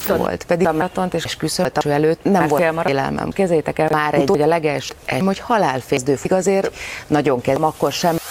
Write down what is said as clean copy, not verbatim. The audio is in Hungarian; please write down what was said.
volt, pedig a maratont és küszöböt előtt nem volt élelmem. Kezétek el már egy, hogy a leges, hogy halálfézdő azért nagyon kezdem, akkor sem